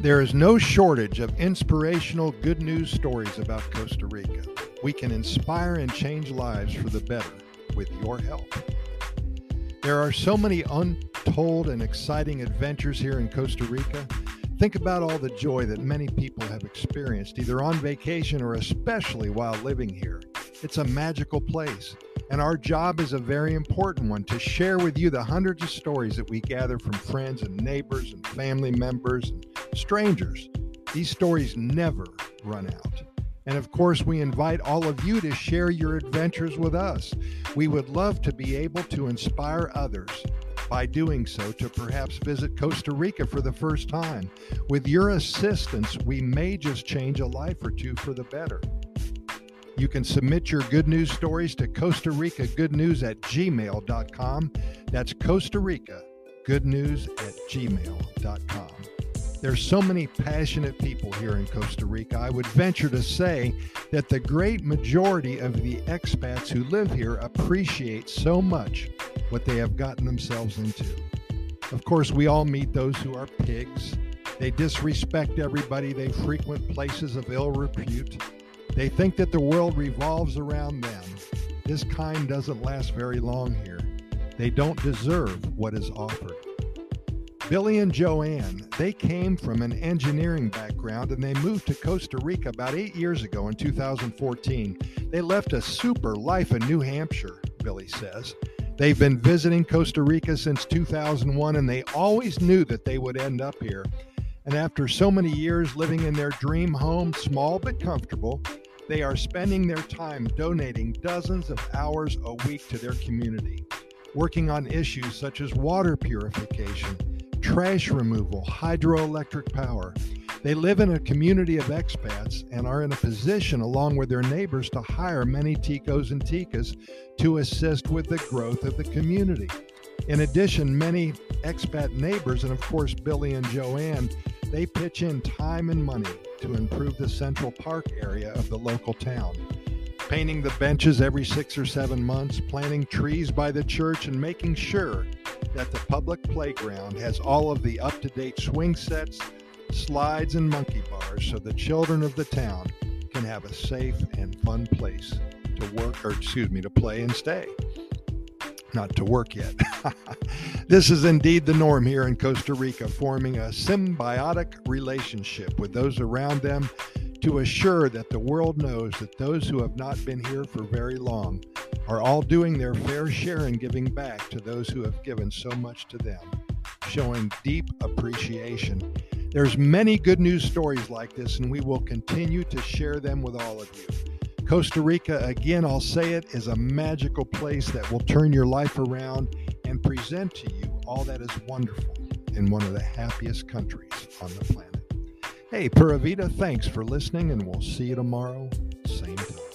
There is no shortage of inspirational good news stories about Costa Rica. We can inspire and change lives for the better with your help. There are so many untold and exciting adventures here in Costa Rica. Think about all the joy that many people have experienced, either on vacation or especially while living here. It's a magical place, and our job is a very important one, to share with you the hundreds of stories that we gather from friends and neighbors and family members and strangers. These stories never run out. And of course, we invite all of you to share your adventures with us. We would love to be able to inspire others by doing so to perhaps visit Costa Rica for the first time. With your assistance, we may just change a life or two for the better. You can submit your good news stories to Costa Rica Good News at gmail.com. That's Costa Rica Good News at gmail.com. There's so many passionate people here in Costa Rica. I would venture to say that the great majority of the expats who live here appreciate so much what they have gotten themselves into. Of course, we all meet those who are pigs. They disrespect everybody. They frequent places of ill repute. They think that the world revolves around them. This kind doesn't last very long here. They don't deserve what is offered. Billy and Joanne, they came from an engineering background and they moved to Costa Rica about 8 years ago in 2014. They left a super life in New Hampshire, Billy says. They've been visiting Costa Rica since 2001 and they always knew that they would end up here. And after so many years living in their dream home, small but comfortable, they are spending their time donating dozens of hours a week to their community, working on issues such as water purification, trash removal, hydroelectric power. They live in a community of expats and are in a position, along with their neighbors, to hire many ticos and ticas to assist with the growth of the community. In addition, many expat neighbors, and of course Billy and Joanne, they pitch in time and money to improve the Central Park area of the local town, painting the benches every 6 or 7 months, planting trees by the church, and making sure that the public playground has all of the up-to-date swing sets, slides, and monkey bars so the children of the town can have a safe and fun place to play and stay. Not to work yet. This is indeed the norm here in Costa Rica, forming a symbiotic relationship with those around them to assure that the world knows that those who have not been here for very long are all doing their fair share in giving back to those who have given so much to them, showing deep appreciation. There's many good news stories like this, and we will continue to share them with all of you. Costa Rica, again, I'll say it, is a magical place that will turn your life around and present to you all that is wonderful in one of the happiest countries on the planet. Hey, Pura Vida, thanks for listening, and we'll see you tomorrow, same time.